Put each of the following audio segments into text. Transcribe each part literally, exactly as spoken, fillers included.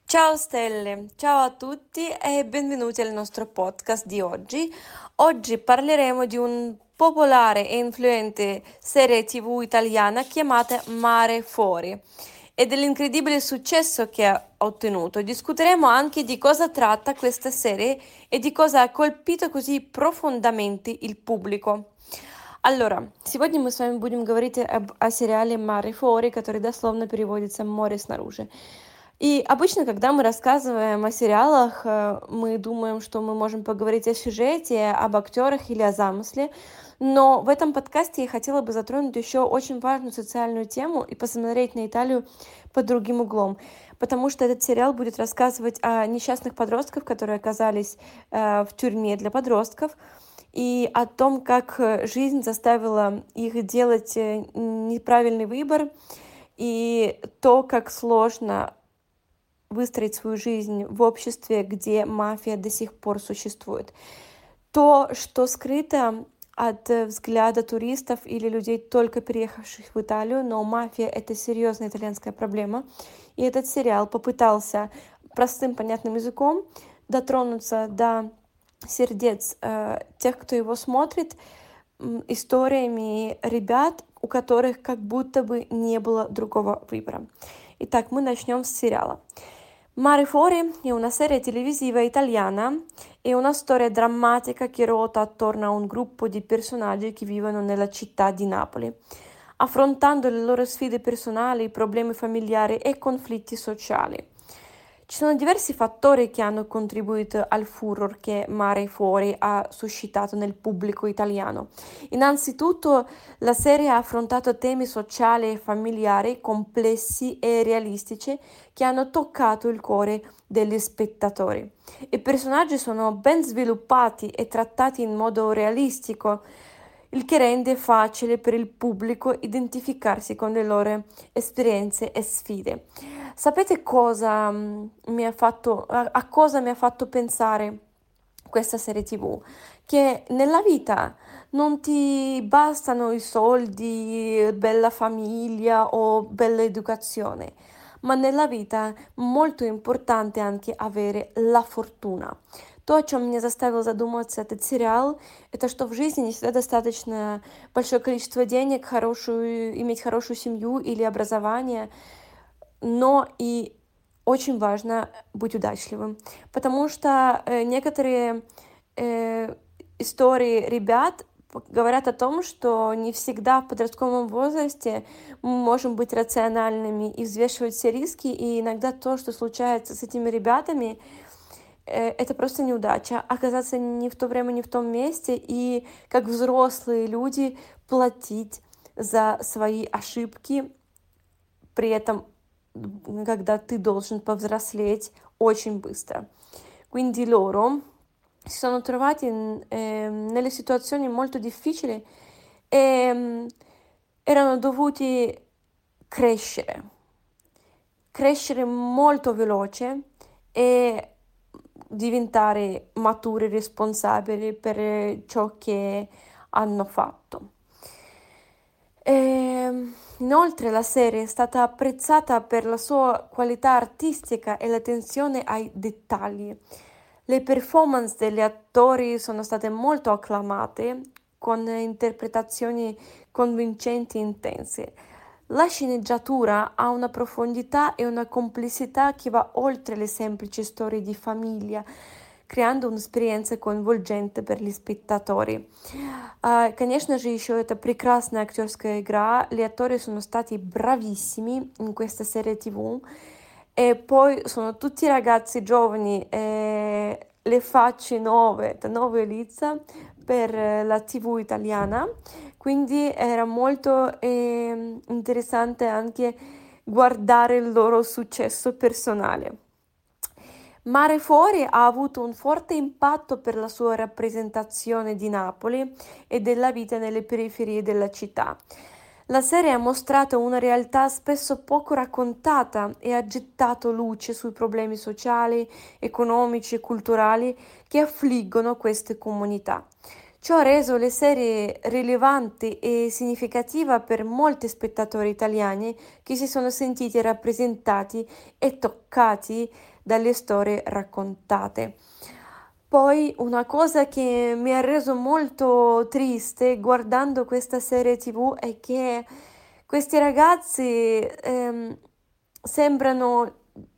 Ciao Stelle, ciao a tutti e benvenuti al nostro podcast di oggi. Oggi parleremo di un popolare e influente serie T V italiana chiamata Mare Fuori e dell'incredibile successo che ha ottenuto. Discuteremo anche di cosa tratta questa serie e di cosa ha colpito così profondamente il pubblico. Аллора, сегодня мы с вами будем говорить об, о сериале «Море Фори», который дословно переводится «Море снаружи». И обычно, когда мы рассказываем о сериалах, э, мы думаем, что мы можем поговорить о сюжете, об актерах или о замысле, но в этом подкасте я хотела бы затронуть еще очень важную социальную тему и посмотреть на Италию под другим углом, потому что этот сериал будет рассказывать о несчастных подростках, которые оказались э, в тюрьме для подростков, и о том, как э, жизнь заставила их делать э, неправильный выбор, и то, как сложно выстроить свою жизнь в обществе, где мафия до сих пор существует. То, что скрыто от э, взгляда туристов или людей, только переехавших в Италию, но мафия — это серьезная итальянская проблема. И этот сериал попытался простым, понятным языком дотронуться до сердец э, тех, кто его смотрит, м, историями ребят, у которых как будто бы не было другого выбора. Итак, мы начнем с сериала. Mare Fuori è una serie televisiva italiana e una storia drammatica che ruota attorno a un gruppo di personaggi che vivono nella città di Napoli, affrontando le loro sfide personali, problemi familiari e conflitti sociali. Ci sono diversi fattori che hanno contribuito al furor che Mare Fuori ha suscitato nel pubblico italiano. Innanzitutto, la serie ha affrontato temi sociali e familiari complessi e realistici che hanno toccato il cuore degli spettatori. I personaggi sono ben sviluppati e trattati in modo realistico, il che rende facile per il pubblico identificarsi con le loro esperienze e sfide. Sapete cosa mm, mi ha fatto, a, a cosa mi ha fatto pensare questa serie T V? Che nella vita non ti bastano i soldi, bella famiglia o bella educazione, ma nella vita è molto importante anche avere la fortuna. То, о чем меня заставил задуматься этот сериал, это что в жизни не всегда достаточно большое количество денег, хорошую, иметь хорошую семью или образование, но и очень важно быть удачливым, потому что э, некоторые э, истории ребят п- говорят о том, что не всегда в подростковом возрасте мы можем быть рациональными и взвешивать все риски, и иногда то, что случается с этими ребятами, э, это просто неудача, оказаться не в то время, не в том месте, и как взрослые люди платить за свои ошибки, при этом mhmm, когда ты должен повзрослеть очень bыстро. Quindi loro si sono trovati in- ehm, nelle situazioni molto difficili e mm, erano dovuti crescere, crescere molto veloce e diventare maturi, responsabili per ciò che hanno fatto. Ehm, inoltre la serie è stata apprezzata per la sua qualità artistica e l'attenzione ai dettagli. Le performance degli attori sono state molto acclamate, con interpretazioni convincenti e intense. La sceneggiatura ha una profondità e una complessità che va oltre le semplici storie di famiglia, creando un'esperienza coinvolgente per gli spettatori. А, Конечно же, еще это прекрасная актерская игра. Gli attori sono stati bravissimi in questa serie T V e poi sono tutti ragazzi giovani, e le facce nuove, da nuove Elisa per eh, la T V italiana, quindi era molto ehm, interessante anche guardare il loro successo personale. Mare Fuori ha avuto un forte impatto per la sua rappresentazione di Napoli e della vita nelle periferie della città. La serie ha mostrato una realtà spesso poco raccontata e ha gettato luce sui problemi sociali, economici e culturali che affliggono queste comunità. Ciò ha reso le serie rilevanti e significative per molti spettatori italiani che si sono sentiti rappresentati e toccati dalle storie raccontate. Poi una cosa che mi ha reso molto triste guardando questa serie T V è che questi ragazzi ehm, sembrano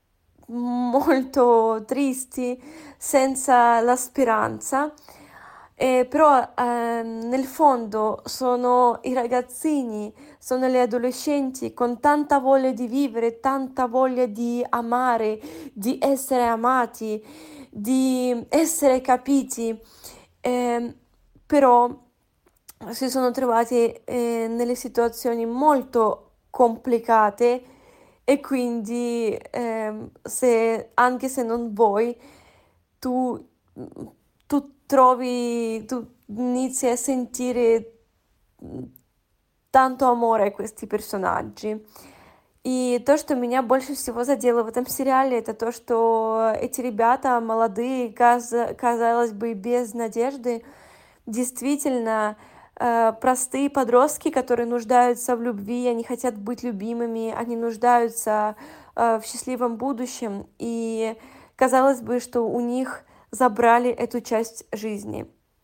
molto tristi, senza la speranza, eh, però ehm, nel fondo sono i ragazzini, sono le adolescenti con tanta voglia di vivere, tanta voglia di amare, di essere amati, di essere capiti, ehm, però si sono trovati eh, nelle situazioni molto complicate e quindi ehm, se, anche se non vuoi, tu, tu trovi, tu inizi a sentire м, tanto amore a questi персонажи. И то, что меня больше всего задело в этом сериале, это то, что эти ребята молодые, каз- казалось бы, без надежды, действительно э, простые подростки, которые нуждаются в любви, они хотят быть любимыми, они нуждаются э, в счастливом будущем, и казалось бы, что у них забрали эту часть жизни.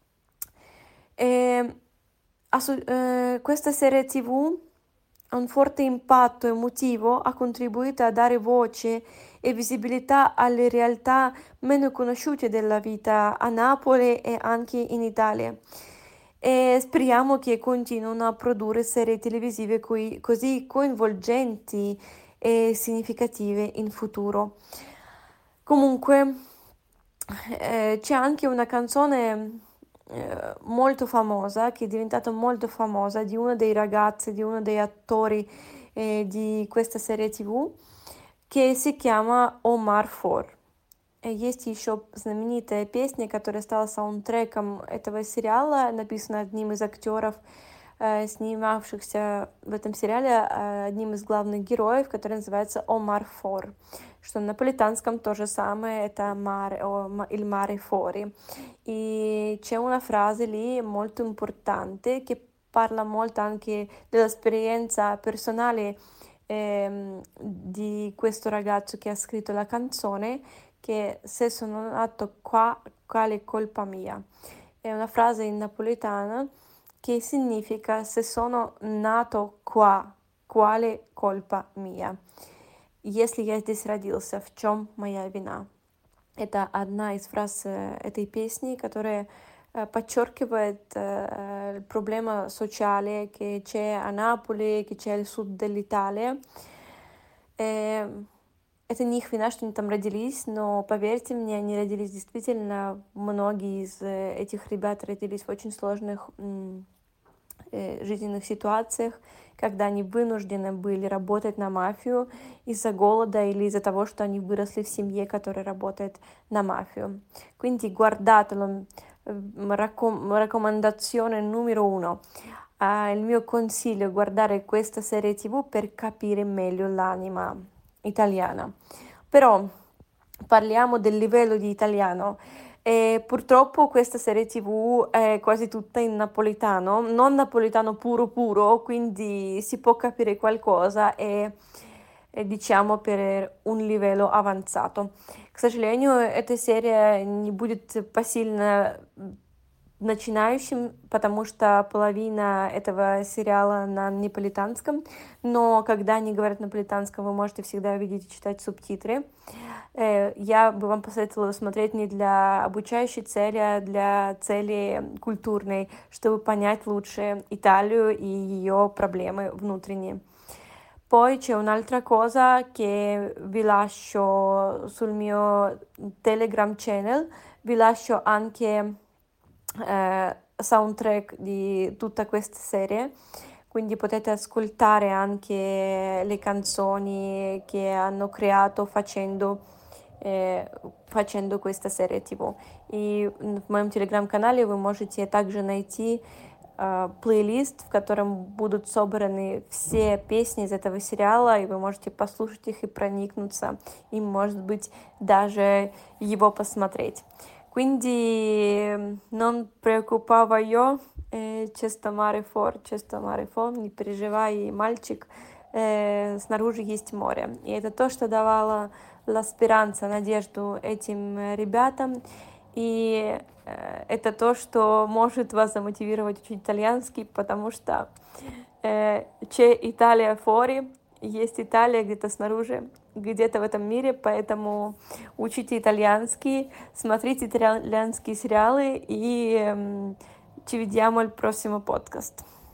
E, assu- eh, questa serie T V ha un forte impatto emotivo, ha contribuito a dare voce e visibilità alle realtà meno conosciute della vita a Napoli e anche in Italia. E speriamo che continuino a produrre serie televisive coi- così coinvolgenti e significative in futuro. Comunque, eh, c'è anche una canzone eh, molto famosa, che è diventata molto famosa, di uno dei ragazzi, di uno dei attori eh, di questa serie T V, che si chiama Omar Фор. Э, Есть еще знаменитая песня, которая стала саундтреком этого сериала, написана одним из актеров, э, снимавшихся в этом сериале, э, одним из главных героев, который называется Omar Фор, что на napoletanском то же самое, это mare, o ma- il mare fuori. E c'è una frase lì molto importante che parla molto anche dell'esperienza personale ehm, di questo ragazzo che ha scritto la canzone, che se sono nato qua, quale colpa mia? È una frase in napoletano che significa se sono nato qua, quale colpa mia? Если я здесь родился, в чем моя вина? Это одна из фраз э, этой песни, которая э, подчеркивает э, проблема sociale che c'è a Napoli, che c'è al sud dell'Italia. Э, Это не их вина, что они там родились, но поверьте мне, они родились действительно, многие из э, этих ребят родились в очень сложных м, э, жизненных ситуациях, когда они вынуждены были работать на мафию из-за голода или из-за того, что они выросли в семье, которая работает на мафию. Quindi guardatelo, eh, raccom- raccomandazione numero uno. Ah, il mio consiglio è guardare questa serie T V per capire meglio l'anima italiana. Però parliamo del livello di italiano. E purtroppo questa serie T V è quasi tutta in napoletano, non napoletano puro puro, quindi si può capire qualcosa e, e diciamo per un livello avanzato. К сожалению, эта серия не будет посильно начинающим, потому что половина этого сериала на неаполитанском, но когда они говорят на наполитанском, вы можете всегда видеть и читать субтитры. Э, Я бы вам посоветовала смотреть не для обучающей цели, а для цели культурной, чтобы понять лучше Италию и ее проблемы внутренние. Poi c'è un'altra cosa che vi lascio sul mio Telegram channel, vi lascio anche eh, soundtrack di tutta questa serie, quindi potete ascoltare anche le canzoni che hanno creato facendo, э, facendo questa serie T V. И м, в моем телеграм-канале вы можете также найти э, плейлист, в котором будут собраны все песни из этого сериала, и вы можете послушать их и проникнуться, и, может быть, даже его посмотреть. Quindi non preoccupaio, э, чисто море фор, чисто море фон, не переживай, мальчик, э, снаружи есть море. И это то, что давало la speranza, надежду этим э, ребятам. И э, это то, что может вас замотивировать учить итальянский, потому что э, c'è Italia fuori, есть Италия где-то снаружи, где-то в этом мире, поэтому учите итальянский, смотрите итальянские сериалы и эм, ci vediamo al prossimo podcast.